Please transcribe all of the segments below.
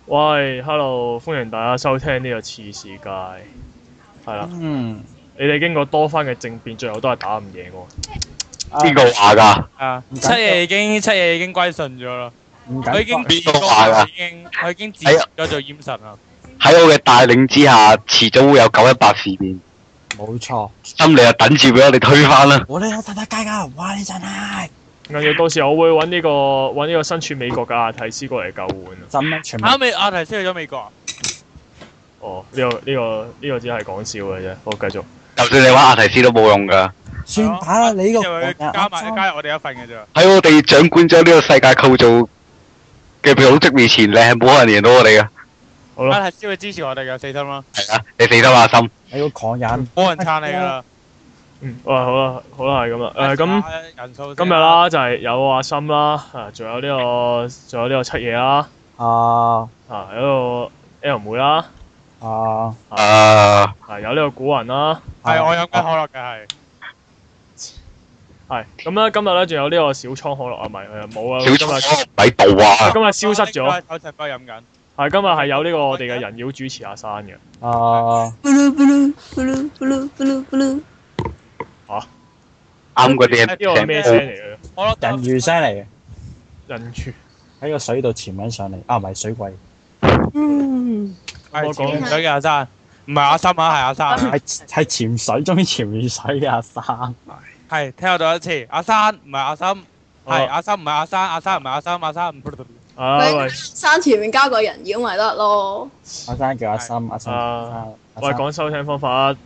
喂，Hello，歡迎大家收聽呢個次世界，係啦。你哋經過多番嘅政變，最後都係打唔贏喎。 邊個話㗎？ 七爺已經歸順咗啦。佢已經邊個話㗎？ 佢已經自咗做閹神啦。 喺我嘅帶領之下，遲早會有918事變。 冇錯。 心你就等住俾我哋推翻啦。 我哋有大家㗎，哇！你真係。 跟住到時我會揾呢個身處美國嘅阿提斯過嚟救援。 真咩？全部。 阿提斯去咗美國啊？ 哦，呢個只係講笑嘅啫。好，繼續。 就算你玩阿提斯都冇用㗎。 算打啦，你呢個加入我哋一份嘅啫。 喺我哋掌管咗呢個世界構造嘅組織面前，你係冇可能贏到我哋㗎。 好啦。 阿提斯會支持我哋嘅，死心啦。 係啊，你死心阿心。 你要狂人。 冇人撐你㗎啦。 好啦，係咁啦。咁今日啦就係有阿森啦，仲有呢個七爺啦，有個 L 妹啦，有呢個古人啦， 係我飲緊可樂嘅係咁啦。今日咧仲有呢個小倉可樂啊，唔係冇啊， 小倉喺度啊， 今日消失咗。 我食過飲緊。 係今日係有呢個我哋嘅人妖主持阿山嘅。 啱嗰啲呢個係咩聲嚟嘅？ 人魚聲嚟嘅。 人魚喺個水度潛緊上嚟，唔係水鬼。 我講咗嘅阿山，唔係阿森啊，係阿山。 係潛水中潛完水嘅阿山。 係聽我讀一次，阿山唔係阿森，係阿森唔係阿山，阿山唔係阿森，阿山唔。 喂， 山前面加個人妖咪得咯。 阿山叫阿森，阿森。 喂，講收聽方法啊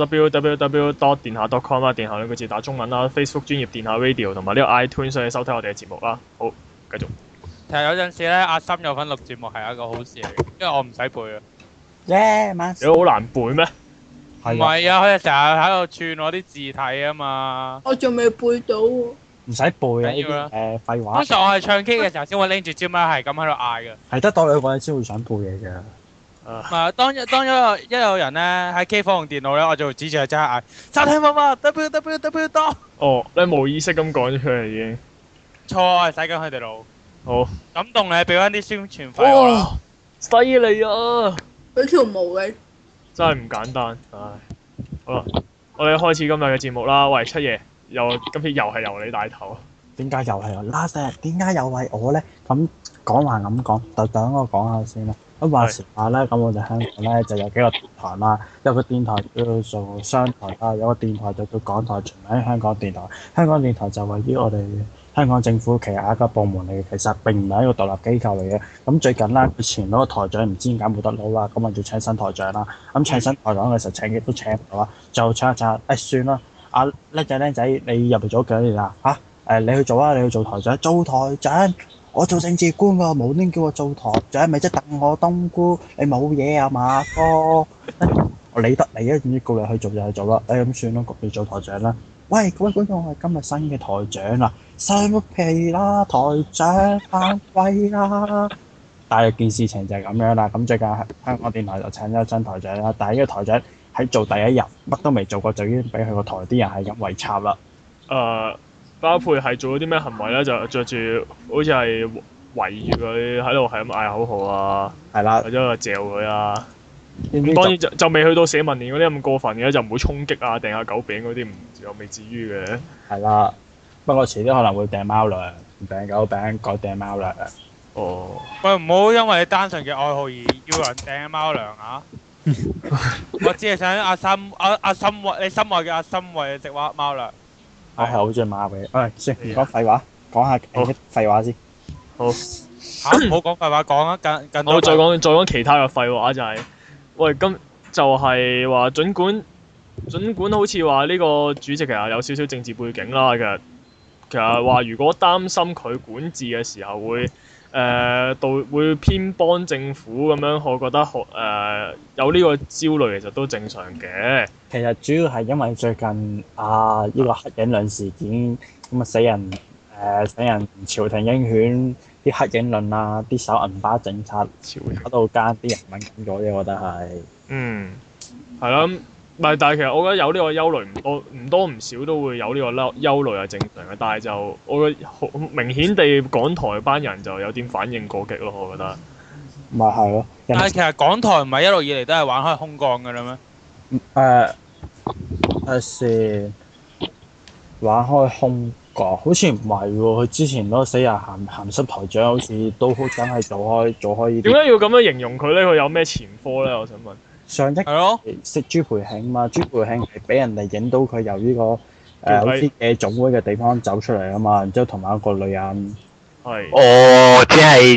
www.電下.com 啦，電下兩個字打中文啦 ，Facebook 專頁電下 Radio 同埋呢個 iTunes 上去收聽我哋嘅節目啦。好，繼續。 其實有陣時咧，阿森有份錄節目係一個好事嚟嘅，因為我唔使背啊。 你好難背咩？ 唔係啊，佢哋成日喺度串我啲字體啊嘛。 我仲未背到喎。 唔使背啊！呢啲廢話。 通常我係唱 K 嘅時候先會拎住支咪係咁喺度嗌嘅。 係得多兩個人先會想背嘢嘅。 唔係，當一有人咧喺 K 房用電腦咧，我就會指住佢即刻嗌收聽方法 www 多。 哦，你冇意識咁講出嚟已經。 錯，我係洗緊佢哋腦。 好。 感動你，俾翻啲宣傳費我啦。 犀利啊！ 俾條毛嘅。真係唔簡單，唉。好啦，我哋開始今日嘅節目啦。喂，七爺，今次又係由你帶頭。 點解又係我？Last，點解又係我咧？咁講還咁講，就等我講下先啦。咁話時話咧，咁我哋香港咧就有幾個電台啦，有個電台叫做商台啦，有個電台就叫港台，全名香港電台。香港電台就位於我哋香港政府旗下一個部門嚟嘅，其實並唔係一個獨立機構嚟嘅。咁最近咧，佢前嗰個台長唔知點解冇得撈啦，咁啊要請新台長啦。咁請新台長嘅時候請極都請唔到啦，就請一請，算啦。阿叻仔，你入嚟做咗幾多年啦？你去做啊！你去做台長，做台長。我做政治官㗎，冇端叫我做台長，咪即係等我冬菇，你冇嘢啊嘛哥，我理得你啊，總之叫你去做就去做啦，咁算啦，焗你做台長啦。喂，各位觀眾，我係今日新嘅台長啦，收皮啦，台長返歸啦。但係件事情就係咁樣啦，咁最近香港電台就請咗新台長啦，但係呢個台長喺做第一日乜都未做過，就已經俾佢個台啲人係咁圍插啦。 包括係做咗啲咩行為咧？就着住好似係圍住佢喺度係咁嗌口號啊， 係啦， 或者嚼佢啊。咁當然就未去到社民連嗰啲咁過分嘅，就唔會衝擊啊、掟下狗餅嗰啲，又未至於嘅。 係啦，不過遲啲可能會掟貓糧，唔掟狗餅，改掟貓糧。 哦。 喂，唔好因為你單純嘅愛好而要人掟貓糧啊！我只係想阿森你心愛嘅阿森為你食貓糧。 我係好中意馬嘅，算唔講廢話，講下廢話先。 好。 唔好講廢話，講啊，更多。 我再講其他嘅廢話就係，喂，咁就係話，儘管好似話呢個主席其實有少少政治背景啦，其實話如果擔心佢管治嘅時候會偏幫政府咁樣，我覺得有呢個焦慮其實都正常嘅。 其實主要係因為最近呢個黑影論事件咁啊，死人朝廷鷹犬啲黑影論啊，啲手銀包政策搞到間啲人敏感咗啫，我覺得係。 係啦，唔係，但係其實我覺得有呢個憂慮唔多唔少都會有呢個憂慮係正常嘅，但係就我覺得好明顯地港台班人就有啲反應過激咯，我覺得。 咪係咯。 但係其實港台唔係一路以嚟都係玩開空降㗎啦咩？ 先玩開空降，好似唔係喎。佢之前嗰個死人鹹濕台長，好似都真係做開呢啲。 點解要咁樣形容佢咧？佢有咩前科咧？我想問。 上一係咯， 識朱培慶嘛？朱培慶係俾人哋影到佢由呢個好似夜總會嘅地方走出嚟啊嘛，然之後同埋一個女人。 係。 哦，即係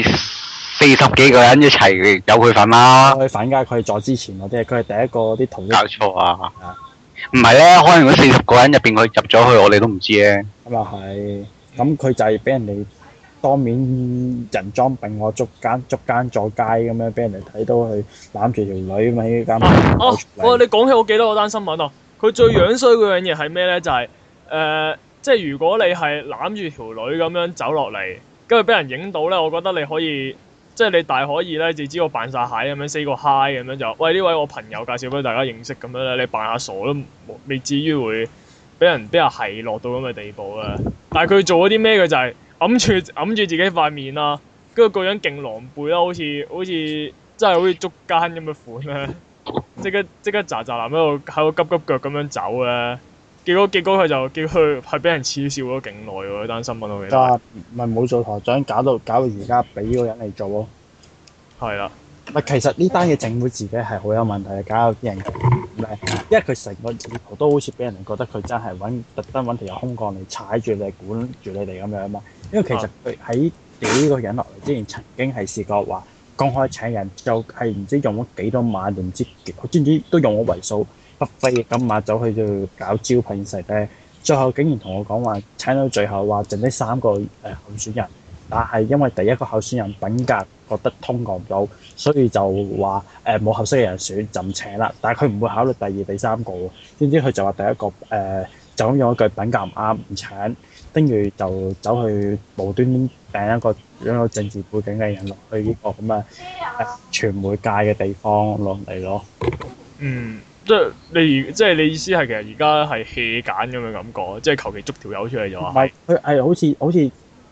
40幾個人一齊有佢份啦。 佢反㗎，佢係在之前嗰啲，佢係第一個啲逃。 搞錯啊！唔係咧，可能嗰40個人入邊，佢入咗去，我哋都唔知咧。 咁又係，咁佢就係俾人哋當面人裝並我捉奸坐街咁樣，俾人哋睇到佢攬住條女咁喺間。 你講起我記得嗰單新聞啊！佢最樣衰嗰樣嘢係咩咧？就係即係如果你係攬住條女咁樣走落嚟，跟住俾人影到咧，我覺得你可以。即係你大可以咧，就知我扮晒蟹咁樣 say 個 hi 咁樣就，喂，呢位我朋友介紹俾大家認識咁樣咧，你扮下傻都未至於會俾人係落到咁嘅地步啊！但係佢做咗啲咩？佢就係揞住自己塊面啦，跟住個樣勁狼狽啦，好似真係好似捉奸咁嘅款咧，即刻喳喳臨喺度急腳咁樣走咧。結果佢就叫佢係俾人恥笑咗勁耐喎！嗰單新聞我記得。 咪冇做台長，搞到而家俾嗰個人嚟做咯。係啦。咪其實呢單嘢政府自己係好有問題嘅，搞到啲人咩？因為佢成個意圖都好似俾人哋覺得佢真係特登揾條有空降嚟踩住你管住你哋咁樣嘛。因為其實佢喺屌呢個人落嚟之前，曾經係試過話公開請人，就係唔知用咗幾多萬，定唔知知唔知都用咗為數不菲嘅金額走去度搞招聘時咧，最後竟然同我講話請到最後話剩低3個候選人，但係因為第一個候選人品格覺得通過唔到，所以就話冇合適嘅人選就唔請啦。但係佢唔會考慮第2、第3個喎，點知佢就話第一個就咁用一句品格唔啱唔請，跟住就走去無端端掟一個擁有政治背景嘅人落去呢個咁嘅傳媒界嘅地方落嚟咯。 嗯。即係你意思係其實而家係 hea 揀咁嘅感覺，即係求其捉條友出嚟就話。唔係， 佢係好似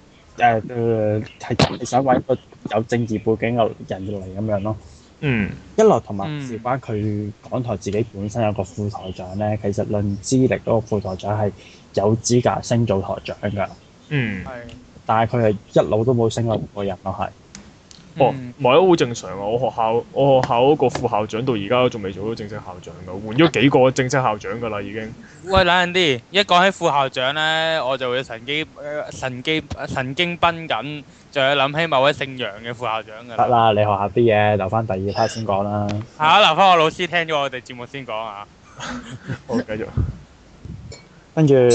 係想揾一個有政治背景嘅人嚟咁樣咯。 嗯。 一來同埋事關佢港台自己本身有個副台長咧，其實論資歷嗰個副台長係有資格升做台長㗎。嗯。係。但係佢係一路都冇升過個人咯，係。哦，唔係都好正常啊！我學校嗰個副校長到而家都仲未做到正式校長㗎，換咗幾個正式校長㗎啦已經。 喂，冷靜啲！一講起副校長咧，我就會神經繃緊，就係諗起某位姓楊嘅副校長㗎。得啦， 你學校啲嘢留翻第2 part 先講啦。 留翻我老師聽咗我哋節目先講啊！ 好，繼續。 跟住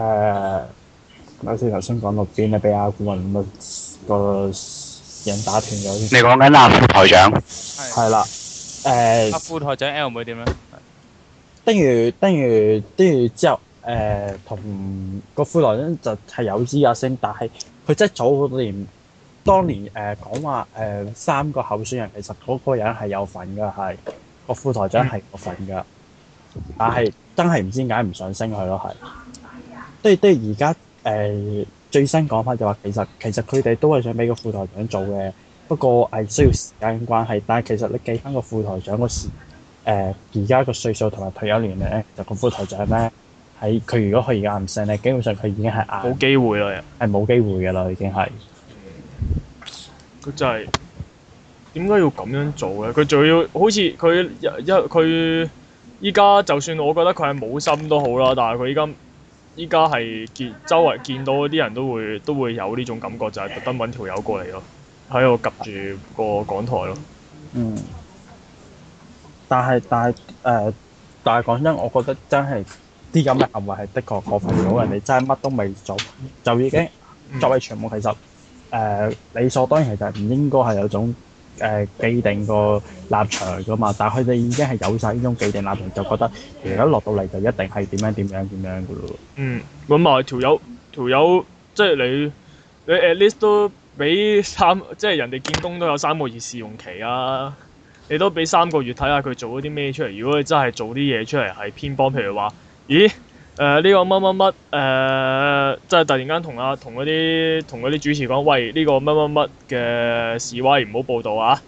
頭先講到邊咧？俾阿顧問個人打斷咗。 你講緊副台長？ 係啦， 副台長 L 妹點咧？ 跟住之後，同個副台長就係有資格升，但係佢真係早好多年，當年講話3個候選人，其實嗰個人係有份㗎，係個副台長係有份㗎，但係真係唔知點解唔想升佢咯，係。都係而家最新講法就話其實佢哋都係想俾個副台長做嘅，不過係需要時間關係。但係其實你計翻個副台長個時而家個歲數同埋退休年齡咧，就個副台長咧喺佢如果佢而家唔升咧，基本上佢已經係冇機會啦， 係冇機會㗎啦，已經係。 佢真係點解要咁樣做咧？佢仲要好似佢依家就算我覺得佢係冇心都好啦，但係佢依家係周圍見到嗰啲人都會有呢種感覺，就係特登揾條友過嚟咯，喺度及住個港台咯。 嗯。但係講真，我覺得真係啲咁嘅行為係的確過分咗，人哋真係乜都未做，就已經作為傳媒其實理所當然其實唔應該係有種既定個立場噶嘛，但係佢哋已經係有晒呢種既定立場，就覺得其實一落到嚟就一定係點樣噶咯。嗯， 咁埋條友即係你 at least 都俾即係人哋見工都有3個月試用期啊！你都俾3個月睇下佢做咗啲咩出嚟。如果你真係做啲嘢出嚟係偏幫，譬如話，咦呢個乜即係突然間同嗰啲主持講，喂呢個乜嘅示威唔好報導啊！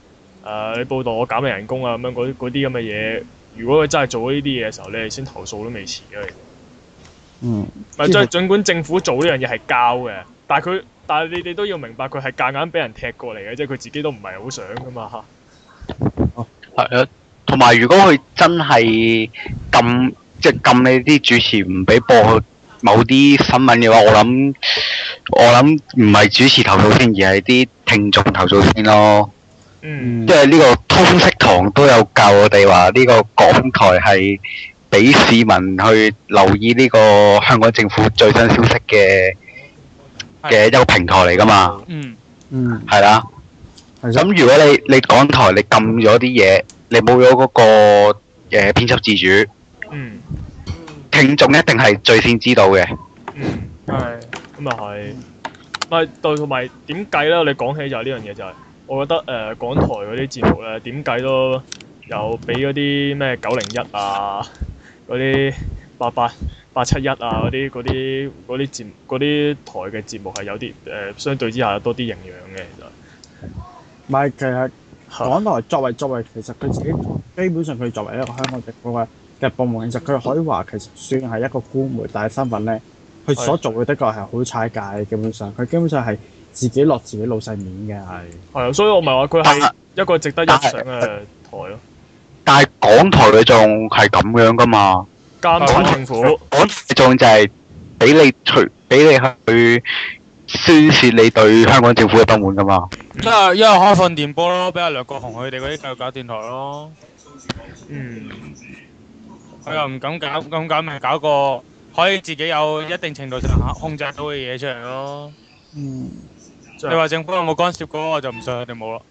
你報道我減你人工啊咁樣嗰啲咁嘅嘢，如果佢真係做咗呢啲嘢嘅時候，你哋先投訴都未遲嘅。 嗯。 唔係，即係儘管政府做呢樣嘢係交嘅，但係你哋都要明白佢係夾硬俾人踢過嚟嘅，即係佢自己都唔係好想噶嘛嚇。 係啊，同埋如果佢真係禁你啲主持唔俾播某啲新聞嘅話，我諗唔係主持投訴先，而係啲聽眾投訴先咯。 嗯。 因為呢個通識堂都有教我哋話，呢個港台係俾市民去留意呢個香港政府最新消息嘅一個平台嚟㗎嘛。 嗯。 係啦。咁如果你港台你禁咗啲嘢，你冇咗嗰個編輯自主，聽眾一定係最先知道嘅。 係。咁又係。咪同埋點計咧？你講起就係呢樣嘢就係。我覺得港台嗰啲節目咧點計都有比嗰啲咩901啊、嗰啲87871啊嗰啲台嘅節目係有啲相對之下有多啲營養嘅其實。 唔係，其實港台作為其實佢自己基本上佢作為一個香港政府嘅部門，其實佢可以話其實算係一個官媒，但係身份咧，佢所做嘅的確係好踩界，基本上佢基本上係。自己落自己老細面嘅係。係啊， 所以我咪話佢係一個值得一上嘅台咯。但係港台佢仲係咁樣噶嘛？ 監察政府。 港台仲就係俾你去宣泄你對香港政府嘅不滿噶嘛？ 一係開放電波咯，俾阿梁國雄佢哋嗰啲繼續搞電台咯。佢又唔敢搞，咁搞咪搞個可以自己有一定程度上控制到嘅嘢出嚟咯。你話政府有冇干涉過？我就唔信佢哋冇啦。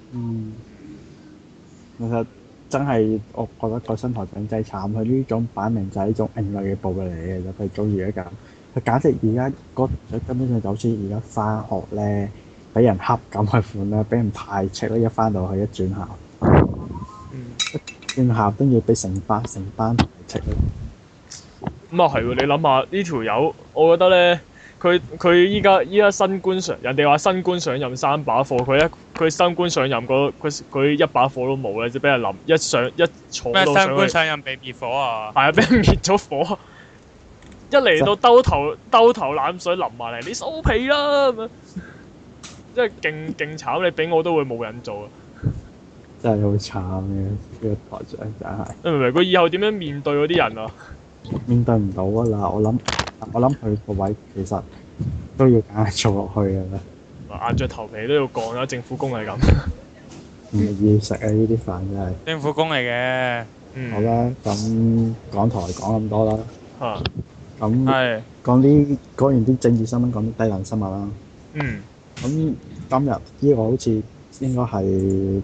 其實真係我覺得個新台長真係慘，佢呢種擺明就係一種另類嘅暴力嚟嘅，就佢早而家咁，佢簡直而家嗰根本上就好似而家翻學咧，俾人恰咁嘅款啦，俾人排斥啦，一翻到去一轉校，一轉校跟住俾成班排斥啦。 咁啊係喎，你諗下呢條友，我覺得咧。佢依家新官上，人哋話新官上任3把火，佢新官上任佢1把火都冇咧，就俾人淋一坐到上去。咩新官上任被滅火啊？係啊，俾人滅咗火。一嚟到兜頭冷水淋埋嚟，你收皮啦咁樣，即係勁慘，你俾我都會冇人做啊！ 真係好慘嘅呢個台長真係。 你明唔明？佢以後點樣面對嗰啲人啊？ 面對唔到啊啦！我諗佢個位其實都要硬做落去嘅啦。 硬着頭皮都要幹啦，政府工係咁。 唔係要食啊！呢啲飯真係。 政府工嚟嘅。 好啦，咁港台講咁多啦。咁講完啲政治新聞，講啲低能新聞啦。咁今日呢個好似應該係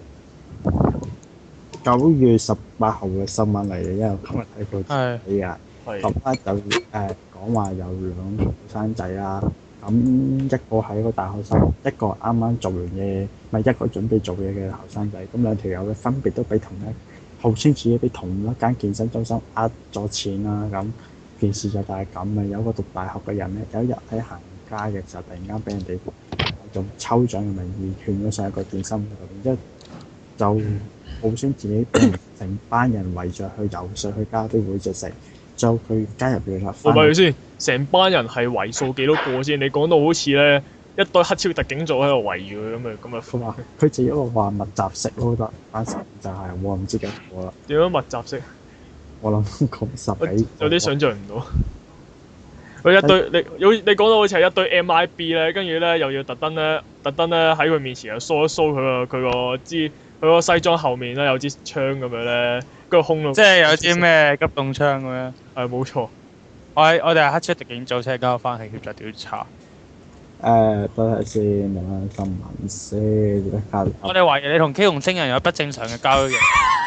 9月18號嘅新聞嚟嘅，因為今日睇到睇啊。咁咧就講話有2個後生仔啦，咁一個係一個大學生，一個啱啱做完嘢，咪一個準備做嘢嘅後生仔。咁兩條友咧分別都俾號稱自己俾同一間健身中心呃咗錢啦。咁件事就係咁嘅，有個讀大學嘅人咧，有一日喺行街嘅時候，突然間俾人哋用抽獎嘅名義勸咗上一個健身會度，然之後就號稱自己成班人圍着去游水去加啲會就食。就佢加入咗啦。 我問你先，成班人係為數幾多個先？你講到好似咧一堆黑超特警組喺度圍住佢咁啊！ 佢話佢自己話密集式咯，得班時就係我唔知幾多啦。 點樣密集式？ 我諗講10幾。 有啲想像唔到。佢一堆你講到好似係一堆 MIB 咧，跟住咧又要特登咧喺佢面前又 show 一 show 佢個西裝後面咧有支槍咁樣咧。個空咯， 即係有啲咩急凍槍咁樣。 係冇錯。 我哋係黑車特警組車交翻去協助調查。 等下先，睇下新聞先。 我哋懷疑你同 K 紅星人有不正常嘅交易。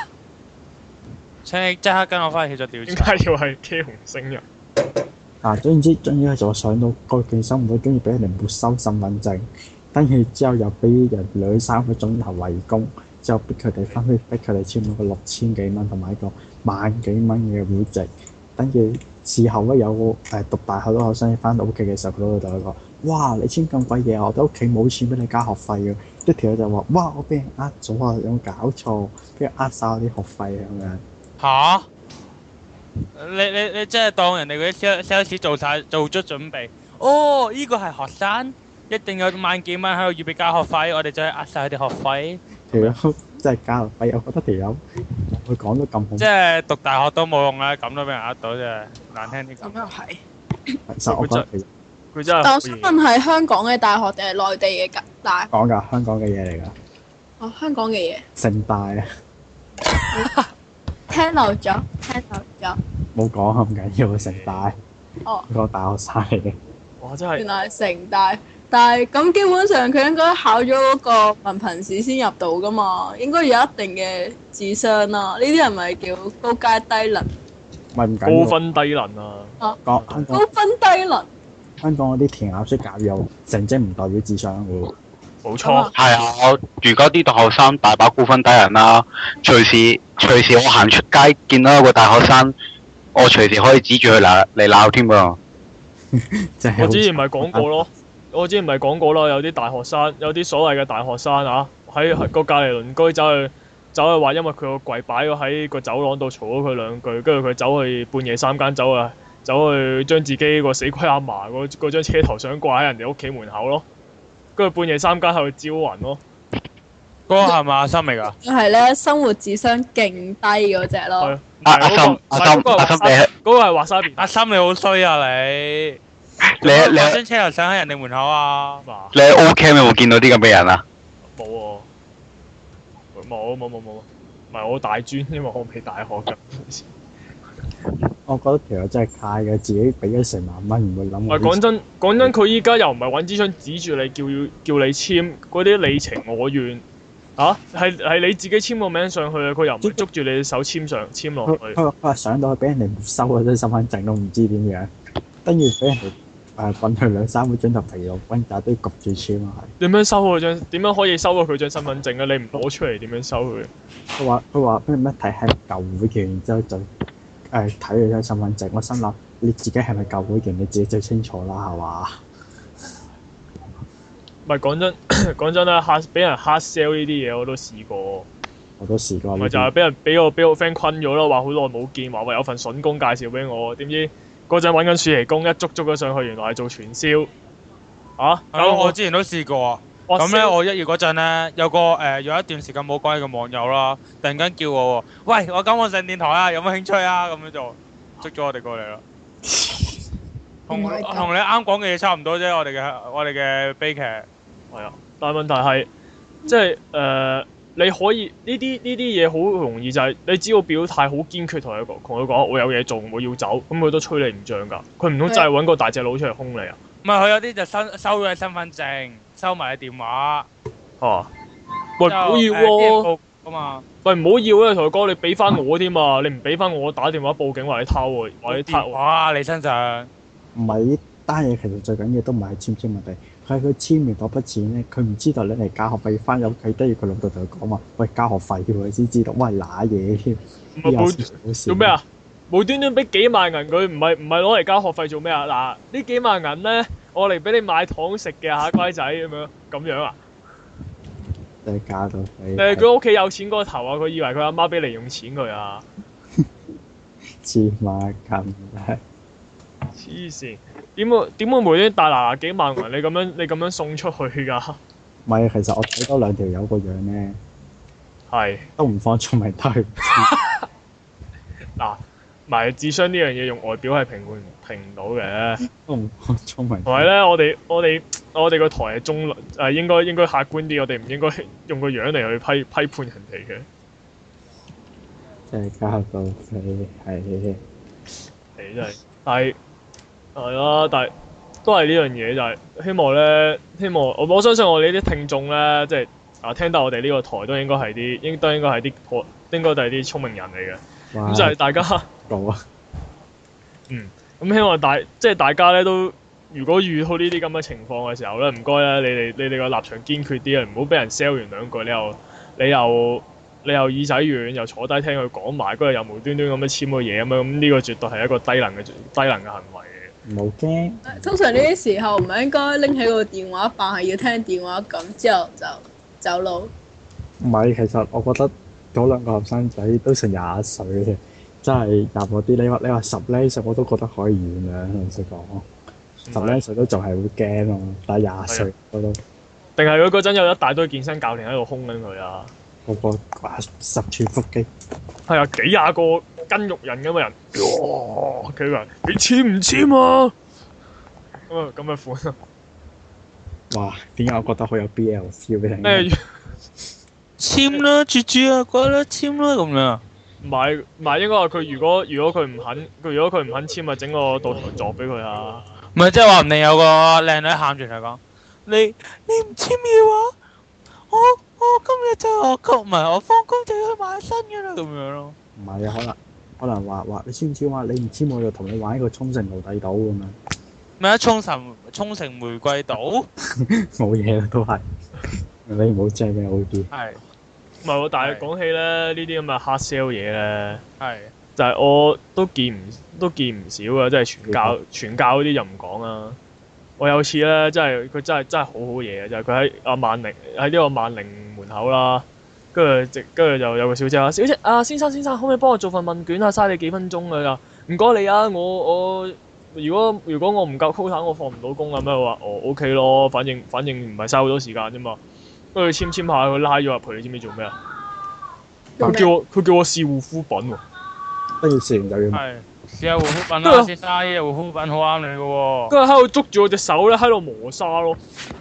請你即刻跟我翻去協助調查。 點解要係 K 紅星人？ 總之就上到個健身會，跟住俾人哋沒收身份證，跟住之後又俾人2-3個鐘頭圍攻。之後逼佢哋簽咗個6000幾蚊同埋一個1萬幾蚊嘅會籍，跟住事後咧有讀大學嘅學生翻到屋企嘅時候，佢都會同佢講：哇！你簽咁鬼嘢，我哋屋企冇錢俾你交學費嘅。一條友就話：哇！我俾人呃咗啊！有冇搞錯？俾人呃晒我啲學費咁樣。 嚇！你真係當人哋嗰啲 sales 做足準備？哦，呢個係學生，一定有萬幾蚊喺度預備交學費，我哋就係呃晒佢哋學費。條友真係交學費，我覺得條友佢講得咁好。 即係讀大學都冇用啦，咁都俾人呃到啫，難聽啲講。 咁又係。 其實我覺得佢真係。 但我想問係香港嘅大學定係內地嘅大學？ 講㗎，香港嘅嘢嚟㗎。 哦，香港嘅嘢。 城大啊！ 聽漏咗，聽漏咗。 冇講咁緊要嘅城大。 哦。 個大學生嚟嘅。 哇！真係。 原來係城大，但係咁基本上佢應該考咗嗰個文憑試先入到㗎嘛，應該有一定嘅智商啦。呢啲人咪叫高階低能。 咪唔緊要。 高分低能啊！ 啊。 高分低能。 香港嗰啲填鴨式教育成績唔代表智商嘅喎。 冇錯。 係啊，我如果啲大學生大把高分低能啦，隨時我行出街見到一個大學生，我隨時可以指住佢嚟鬧添㗎。 我之前咪講過咯，有啲大學生，有啲所謂嘅大學生啊，喺個隔離鄰居走去話，因為佢個櫃擺咗喺個走廊度，嘈咗佢兩句，跟住佢走去半夜三更走去將自己個死鬼阿嫲嗰張車頭相掛喺人哋屋企門口咯，跟住半夜三更喺度招魂咯。 嗰個係咪阿森嚟㗎？ 係咧，生活智商勁低嗰隻咯。 阿森， 嗰個係華沙比。 阿森你好衰啊你！你張車頭相喺人哋門口啊？ 你喺 O-Camp 有冇見到啲咁嘅人啊？ 冇喎，冇，唔係我大專，因為我未大學㗎。 我覺得其實真係嘥嘅，自己俾咗成萬蚊唔會諗。 唔係講真，佢依家又唔係揾支槍指住你叫你簽嗰啲你情我願啊，係你自己簽個名上去啊，佢又唔係捉住你手簽落去。 佢話上到去俾人哋沒收嗰張身份證都唔知點樣，跟住俾人哋揾佢2-3個鐘頭疲勞轟炸都要焗住簽啊！ 點樣收佢張？點樣可以收到佢張身份證啊？你唔攞出嚟點樣收佢？ 佢話咩睇係舊會員，然之後就睇佢張身份證。我心諗你自己係咪舊會員，你自己最清楚啦，係嘛？ 唔係講真啦，俾人 hard sell 呢啲嘢我都試過。 我都試過。 咪就係俾我 friend 困咗咯，話好耐冇見，話有份筍工介紹俾我，點知嗰陣揾緊暑期工，一捉咗上去，原來係做傳銷。啊！ 我之前都試過啊。咁咧，我1月嗰陣咧，有一段時間冇關嘅網友啦，突然間叫我喎，喂，我上電台啊，有冇興趣啊？咁樣就捉咗我哋過嚟啦。同你啱講嘅嘢差唔多啫，我哋嘅悲劇。 係啊，但係問題係，即係你可以呢啲嘢好容易就係你只要表態好堅決，同佢講我有嘢做，我要走，咁佢都吹你唔脹㗎。佢唔通真係揾個大隻佬出嚟兇你啊？ 唔係，佢有啲就收咗你身份證，收埋你電話。 哦。喂，唔好要喎。喂，唔好要啊！同佢講，你俾翻我添啊！你唔俾翻我，打電話報警話你偷喎，話你偷。 哇！你身上。 唔係呢單嘢，其實最緊要都唔係簽問題，係佢簽完嗰筆錢咧，佢唔知道你嚟交學費，翻屋企跟住佢老豆同佢講話，喂，交學費嘅佢先知道，喂，揦嘢添。 做咩啊？無端端俾幾萬銀佢，唔係攞嚟交學費做咩啊？嗱，呢幾萬銀咧，我嚟俾你買糖食嘅嚇乖仔咁樣啊？ 你加到你。 佢屋企有錢過頭啊！佢以為佢阿媽俾零用錢佢啊？ 黐孖筋咧！ 黐線，點會無端大拿幾萬銀？你咁樣送出去㗎？ 唔係，其實我睇多2條友個樣咧， 係都唔放聰明都係。 嗱，唔係智商呢樣嘢用外表係評唔到嘅。 都唔放聰明。 同埋咧，我哋個台係中立，應該客觀啲，我哋唔應該用個樣嚟去批判人哋嘅。 真係交到你係。 係真係，係啦，但係都係呢樣嘢，就係希望我相信我哋呢啲聽眾咧，即係聽到我哋呢個台都應該係啲啲聰明人嚟嘅。咁就係大家咁希望大家咧都，如果遇到呢啲咁嘅情況嘅時候咧，唔該咧，你哋個立場堅決啲啊，唔好俾人 sell 完兩句， 你又耳仔軟，又坐低聽佢講埋，跟住又無端端咁樣簽個嘢咁樣，咁呢個絕對係一個低能嘅行為嘅。 唔好驚。 通常呢啲時候唔係應該拎起個電話扮係要聽電話咁，之後就走佬。 唔係，其實我覺得嗰兩個後生仔都成廿歲嘅，真係入嗰啲。你話十零歲我都覺得可以原諒，老實講。十零歲都仲係會驚咯，但係廿歲我都。 定係佢嗰陣有一大堆健身教練喺度兇緊佢啊！ 個個十寸腹肌。 係啊，幾廿個筋肉人咁嘅人，佢話：你簽唔簽啊？咁嘅款啊！ 哇！點解我覺得好有 BL feel 俾你？ 簽啦，住啊，過啦，簽啦咁樣。 唔係，應該話佢如果佢唔肯簽，咪整個倒台作俾佢啊！ 唔係即係話唔定有個靚女喊住嚟講，你唔簽嘅話，我今日就學工，唔係我放工就要去買新嘅啦咁樣咯。唔係啊，可能話你簽唔簽話，你唔簽我就同你玩一個沖繩奴隸島咁樣。 咩啊？沖繩玫瑰島？ 冇嘢啦，都係你唔好借俾我啲。係。 唔係喎，但係講起咧呢啲咁嘅 hard sell 嘢咧， 係就係我都見唔少嘅，即係傳教嗰啲就唔講啦。我有次咧，佢真係好好嘢嘅，就係佢喺呢個萬寧門口啦，跟住就有個小姐話：小姐啊，先生，可唔可以幫我做份問卷啊？嘥你幾分鐘㗎咋？唔該你啊，我如果我唔夠 quota，我放唔到工啊咩？我話OK 咯，反正唔係嘥好多時間啫嘛。跟住簽下，佢拉咗入去，你知唔知做咩啊？佢叫我試護膚品喎。 跟住試完就要。係試下護膚品啦，先生，呢隻護膚品好啱你嘅喎。 跟住喺度捉住我隻手咧，喺度磨砂咯。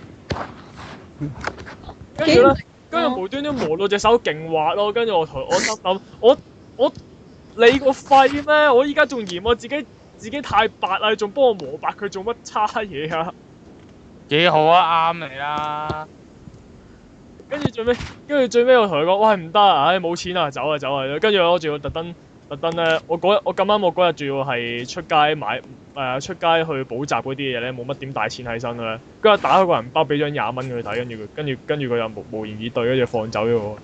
跟住無端端磨到隻手勁滑咯。跟住我心諗，我你個肺咩？我依家仲嫌我自己太白啦，你仲幫我磨白佢做乜差嘢啊？ 幾好啊，啱你啦。 跟住最尾我同佢講：喂，唔得啊！唉，冇錢啊，走啊！跟住我仲要特登咧，我咁啱我嗰日仲要係出街去補習嗰啲嘢咧，冇乜點帶錢喺身咧。跟住打開個銀包，俾張20蚊佢睇，跟住佢又無言以對，跟住放走咗我。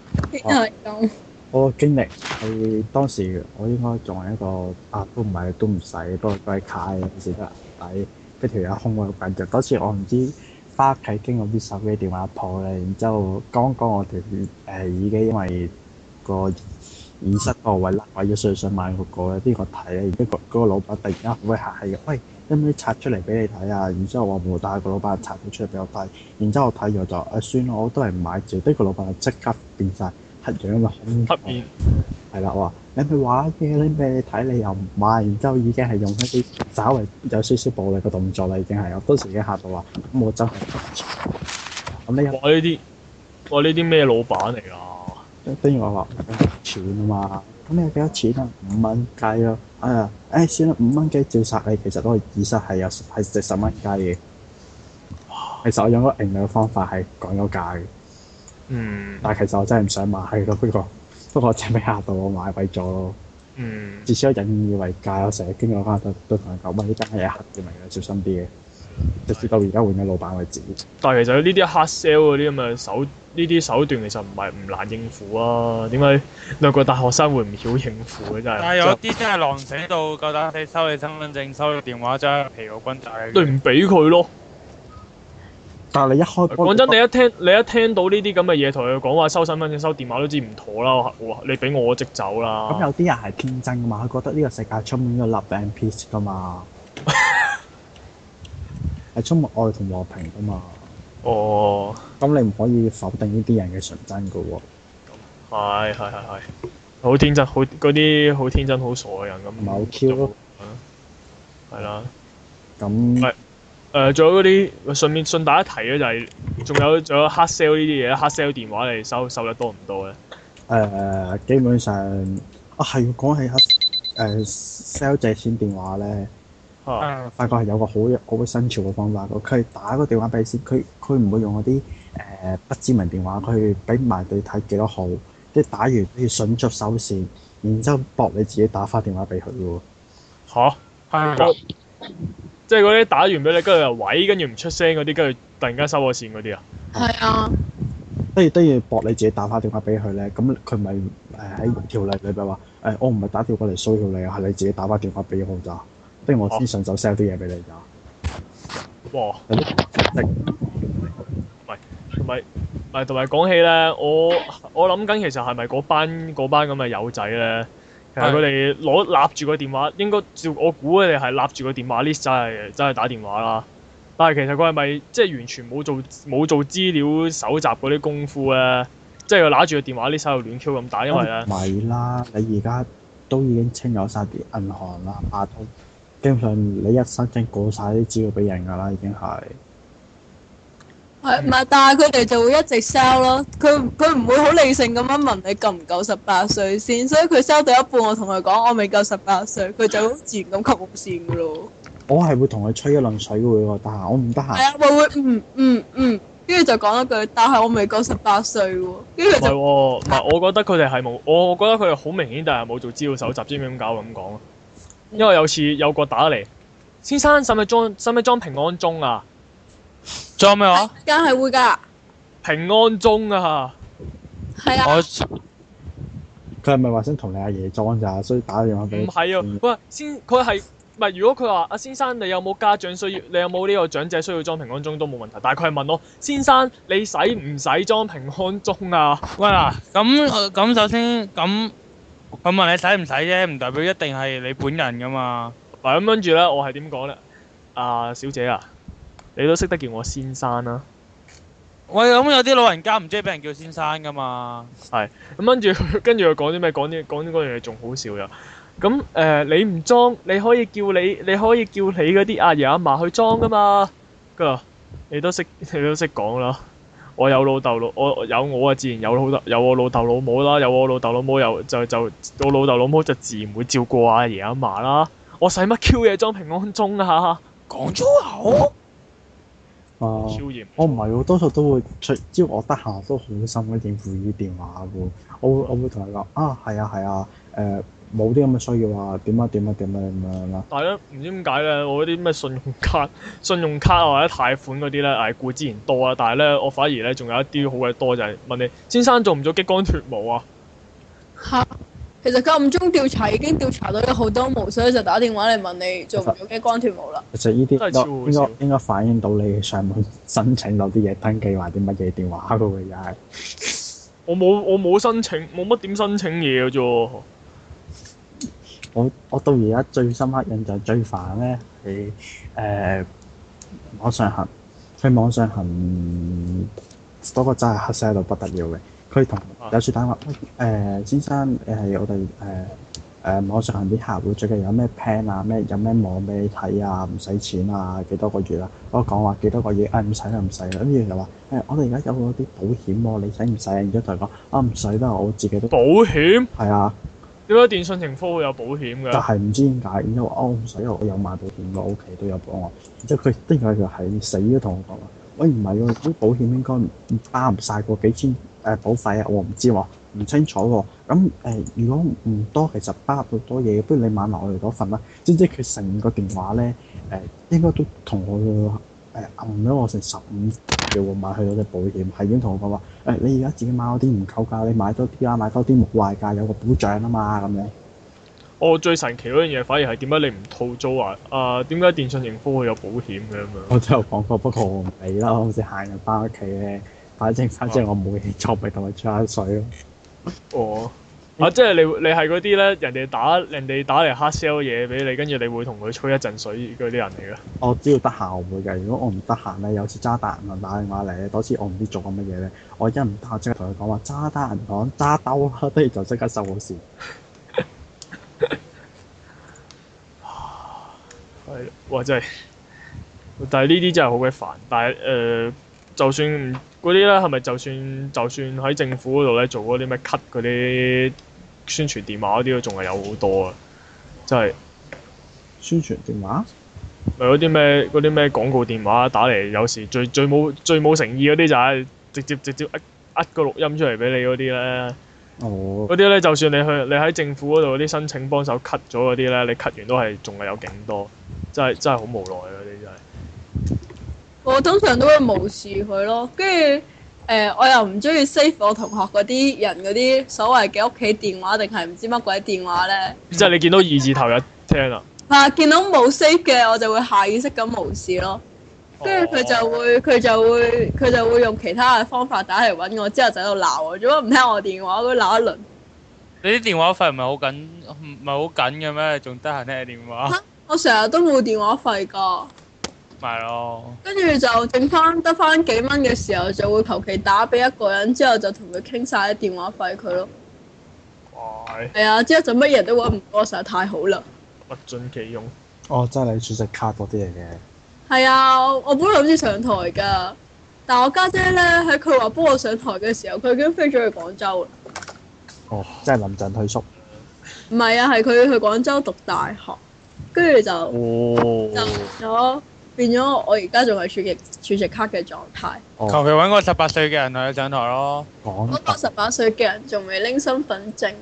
我個經歷係當時我應該仲係一個都唔使，不過都係卡嘅時得抵，俾條友兇我好緊要。嗰次我唔知翻屋企經過啲手機電話鋪咧，然之後剛我條耳機因為個耳塞個位甩位咗，所以想買嗰個咧，邊個睇咧？然之後嗰個老闆突然間好鬼客氣嘅，喂，可唔可以拆出嚟俾你睇啊？然之後我冇，但係個老闆拆咗出嚟俾我睇。然之後我睇咗就算啦，我都係唔買住。跟住個老闆就即刻變晒黑樣啊嘛，黑面係啦，我話你咪玩嘢，你咪睇你又唔買，然之後已經係用一啲稍微有少少暴力嘅動作啦，已經係我當時已經嚇到話咁我真係咁呢？ 哇！呢啲咩老闆嚟㗎？ 跟住我話錢啊嘛，咁你有幾多錢啊？5蚊雞咯，算啦，5蚊雞照殺你，其實嗰個耳塞係值10蚊雞嘅。其實我用個盈利嘅方法係講咗價嘅。但係其實我真係唔想買咯，不過真係俾嚇到我買貴咗咯。至少引以為戒，我成日經過翻都同佢講，喂，呢間係黑嘅嚟嘅，小心啲嘅。直至到而家換咗老闆為止。但係其實呢啲 hard sell 嗰啲咁嘅呢啲手段其實唔難應付啊。點解兩個大學生會唔曉應付嘅真係？但係有啲真係狼死到夠膽死收你身份證、收你電話，真係疲勞轟炸你。你唔俾佢咯。但係你一開波，講真，你一聽到呢啲咁嘅嘢，同佢講話收身份證、收電話都知唔妥啦。你俾我即走啦。咁有啲人係天真噶嘛，佢覺得呢個世界充滿咗 love and peace 噶嘛，係充滿愛同和平噶嘛。哦。咁你唔可以否定呢啲人嘅純真噶喎。係。好天真，嗰啲好天真、好傻嘅人咁。唔係好 Q 咯。係啦。咁。仲有嗰啲順帶一提咧，就係仲有 hard sell 呢啲嘢 hard sell 電話你收得多唔多咧？基本上係講起sell 借錢電話咧，發覺係有個好新潮嘅方法。佢打個電話俾你先，佢唔會用嗰啲不知名電話，佢俾埋你睇幾多號，即係打完要迅速收線，然之後搏你自己打翻電話俾佢嘅喎。係即係嗰啲打完俾你，跟住又喂，跟住唔出聲嗰啲，跟住突然間收咗線嗰啲啊？係啊。 都要駁你自己打翻電話俾佢咧，咁佢咪喺條例裏邊話我唔係打電話嚟騷擾你啊，係你自己打翻電話俾我咋，跟住我先順手 sell 啲嘢俾你咋。 哇！ 有啲同埋講起咧，我諗緊其實係咪嗰班咁嘅友仔咧？其實佢哋立住個電話，應該照我估佢哋係立住個電話 list 真係打電話啦。但係其實佢係咪即係完全冇做資料搜集嗰啲功夫咧？即係佢揦住個電話 list 喺度亂 Q 咁打，因為咧。 唔係啦，你而家都已經清咗晒啲銀行啦、亞通，基本上你一申請過晒啲資料俾人㗎啦，已經係。 係，唔係？但係佢哋就會一直 sell 咯。佢唔會好理性咁樣問你夠唔夠18歲先，所以佢 sell 到一半，我同佢講我未夠18歲，佢就好自然咁 cut 我線㗎咯。 我係會同佢吹一輪水喎，得閒我唔得閒。 係啊，會跟住就講一句，但係我未夠18歲喎。跟住就唔係，我覺得佢哋係冇，我覺得佢哋好明顯，但係冇做資料搜集，知唔知點解我咁講啊？因為有次有個打嚟，先生使唔使裝平安鐘啊？ 裝咩話？ 梗係會㗎。 平安鐘啊！ 係啊。 佢係咪話想同你阿爺裝咋？所以打電話俾你。 唔係啊，佢係唔係？如果佢話阿先生，你有冇家長需要？你有冇呢個長者需要裝平安鐘都冇問題。但係佢係問我，先生你使唔使裝平安鐘啊？ 喂嗱，咁首先咁問你使唔使啫，唔代表一定係你本人㗎嘛。 嗱咁跟住咧，我係點講咧？小姐啊，你都識得叫我先生啦。 喂，咁有啲老人家唔中意俾人叫先生㗎嘛。 係咁跟住佢講啲咩？講啲嗰樣嘢仲好笑㗎。咁你唔裝，你可以叫你嗰啲阿爺阿嫲去裝㗎嘛。佢話你都識講啦。我有老豆我有我啊，自然有我老豆老母啦。有我老豆老母我老豆老母就自然會照顧阿爺阿嫲啦。我使乜 Q 嘢裝平安鐘啊？講粗口。超嚴。我唔係喎，多數都會只要我得閒都好心咁應付呢啲電話喎。我會同佢講係啊，冇啲咁嘅需要啊，點樣啦。 但係咧，唔知點解咧，我嗰啲咩信用卡或者貸款嗰啲咧，固之然多啊。但係咧，我反而咧仲有一啲好鬼多，就係問你先生做唔做激光脫毛啊？ 嚇！其實佢暗中調查已經調查到有好多毛，所以就打電話嚟問你做唔做激光脫毛啦。 其實呢啲應該反映到你上網申請到啲嘢登記或啲乜嘢電話嗰個又係。 我冇申請，冇乜點申請嘢嘅啫。 我到而家最深刻印象最煩咧係網上行，佢網上行嗰個真係黑色到不得了嘅。佢同有次打話先生，你係我哋網上行啲客戶最近有咩 plan 啊，有咩網俾你睇啊，唔使錢啊，幾多個月啊？我講話幾多個月，唔使啦，跟住就話我哋而家有嗰啲保險喎，你使唔使啊？然之後同佢講唔使啦，我自己都保險係啊。 點解電信盈科會有保險嘅？ 但係唔知點解，然之後話唔使，我有買保險嘅，屋企都有幫我。然之後佢突然間就係死都同我講話，喂唔係喎，啲保險應該包唔晒個幾千保費啊，我唔知喎，唔清楚喎。咁如果唔多，其實包到多嘢，不如你買埋我哋嗰份啦。知唔知佢成個電話咧應該都同我揞咗我成15秒喎，買去嗰隻保險，係已經同我講話你而家自己買嗰啲唔夠㗎，你買多啲啦，買多啲冇壞㗎，有個保障啊嘛咁樣。 我最神奇嗰樣嘢反而係點解你唔套租啊？點解電信盈科會有保險嘅咁樣？ 我都有講過，不過我唔理啦，好似行人翻屋企咧，反正我冇嘢做，咪同佢吹下水咯。 哦。即係你係嗰啲咧，人哋打嚟 hard sell 嘢俾你，跟住你會同佢吹一陣水嗰啲人嚟嘅。 我只要得閒我會嘅，如果我唔得閒咧，有次渣打銀行打電話嚟咧，嗰次我唔知做緊乜嘢咧，我一唔得閒即刻同佢講話渣打銀行揸兜啦，跟住就即刻收好線。 係，哇！真係，但係呢啲真係好鬼煩。但係就算嗰啲咧，係咪就算喺政府嗰度咧做嗰啲咩 cut 嗰啲宣傳電話嗰啲都仲係有好多啊！真係宣傳電話咪嗰啲咩廣告電話打嚟，有時最冇誠意嗰啲就係直接呃個錄音出嚟俾你嗰啲咧。哦。嗰啲咧，就算你喺政府嗰度啲申請幫手 cut 咗嗰啲咧，你 cut 完都係仲係有勁多，真係好無奈嗰啲真係。 我通常都會無視佢咯，跟住我又唔中意 save 我同學嗰啲人嗰啲所謂嘅屋企電話定係唔知乜鬼電話咧。 即係你見到二字頭有聽啊？ 係見到冇 save 嘅，我就會下意識咁無視咯。跟住佢就會用其他嘅方法打嚟揾我，之後就喺度鬧我，做乜唔聽我電話？佢鬧一輪。 你啲電話費唔係好緊嘅咩？仲得閒聽電話？ 我成日都冇電話費㗎。 咪咯。 跟住就得翻幾蚊嘅時候，就會求其打俾一個人，之後就同佢傾晒啲電話費佢咯。係啊，之後就乜嘢都揾唔到，實在太好啦。 物盡其用。 哦，真係你儲值卡嗰啲嚟嘅。 係啊，我本來諗住上台㗎，但我家姐咧喺佢話幫我上台嘅時候，佢已經飛咗去廣州啦。 哦，即係臨陣退縮。 唔係啊，係佢去廣州讀大學，跟住就變咗我而家仲係儲值卡嘅狀態。 求其揾個18歲嘅人嚟上台咯。 嗰個18歲嘅人仲未拎身份證。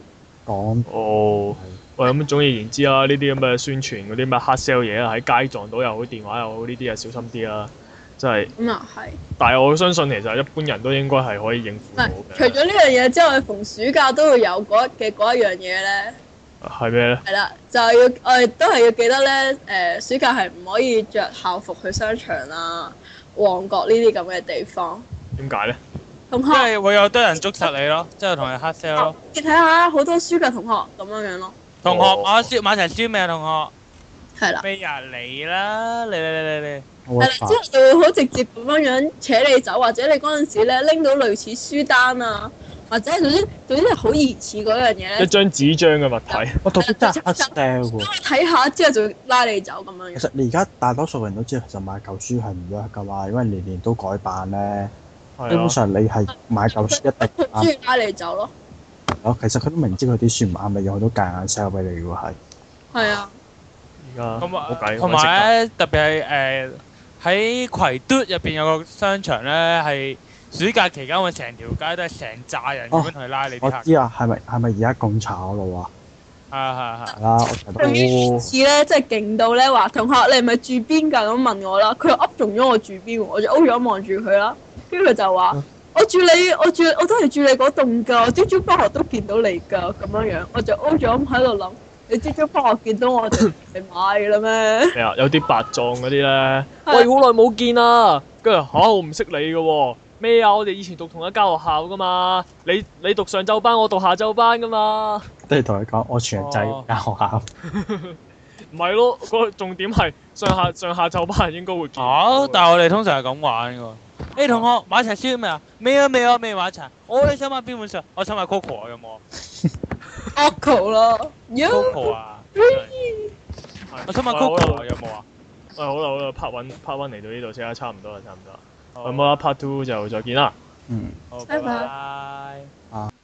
喂，咁總而言之啦，呢啲咁嘅宣傳嗰啲咩黑 sell 嘢啊，喺街撞到又好，電話又好，呢啲啊小心啲啦，真係。咁啊係。但係我相信其實一般人都應該係可以應付到嘅。 除咗呢樣嘢之外，逢暑假都會有嗰一樣嘢咧。 係咩咧？ 係啦，就係我哋都係要記得咧，暑假係唔可以着校服去商場啊、旺角呢啲咁嘅地方。 點解咧？ 同學， 因為會有多人捉實你咯，之後同你黑 sell 咯。 你睇下好多書嘅同學咁樣咯。 同學買齊書未啊？同學係啦。 未啊？嚟啦！嚟！ 係啦，之後就會好直接咁樣扯你走，或者你嗰陣時咧拎到類似書單啊，或者總之係好疑似嗰樣嘢咧。 一張紙張嘅物體。 我讀啲真係黑 sell 喎。 睇下之後就會拉你走咁樣。 其實你而家大多數人都知道，其實買舊書係唔得㗎嘛，因為年年都改版咧。基本上你係買舊書一定啱。中意拉你走咯。 其實佢都明知佢啲書唔啱你用，佢都夾硬 sell 俾你㗎喎係。係啊。 而家冇計。 同埋咧，特別係喺葵嘟入邊有個商場咧，係暑假期間會成條街都係成扎人咁樣同你拉你啲客。 我知啊，係咪而家貢茶嗰度啊？ 係。 啦，我睇到。 次咧，即係勁到咧話，同學你係咪住邊㗎？咁問我啦，佢又噏中咗我住邊喎，我就 O 咗望住佢啦，跟住佢就話。我都係住你嗰棟㗎，我朝朝返學都見到你㗎，咁樣樣，我就 O 咗咁喺度諗，你朝朝返學見到我哋嚟買㗎啦咩？係啊，有啲白撞嗰啲咧，喂，好耐冇見啦，跟住我唔識你嘅喎，咩啊？我哋以前讀同一間學校㗎嘛，你讀上晝班，我讀下晝班㗎嘛。 都係同你講，我全日制間學校。 唔係咯，個重點係上下晝班應該會見。 但係我哋通常係咁玩㗎。同學買齊書未啊？未啊，未買齊。你想買邊本書？我想買 Coco 啊，有冇啊 ？Coco 咯 ，Coco 啊。我想買 Coco 啊，有冇啊？ 好啦，part one 嚟到呢度先啦，差唔多啦。咁啦，part two 就再見啦。 好，拜拜。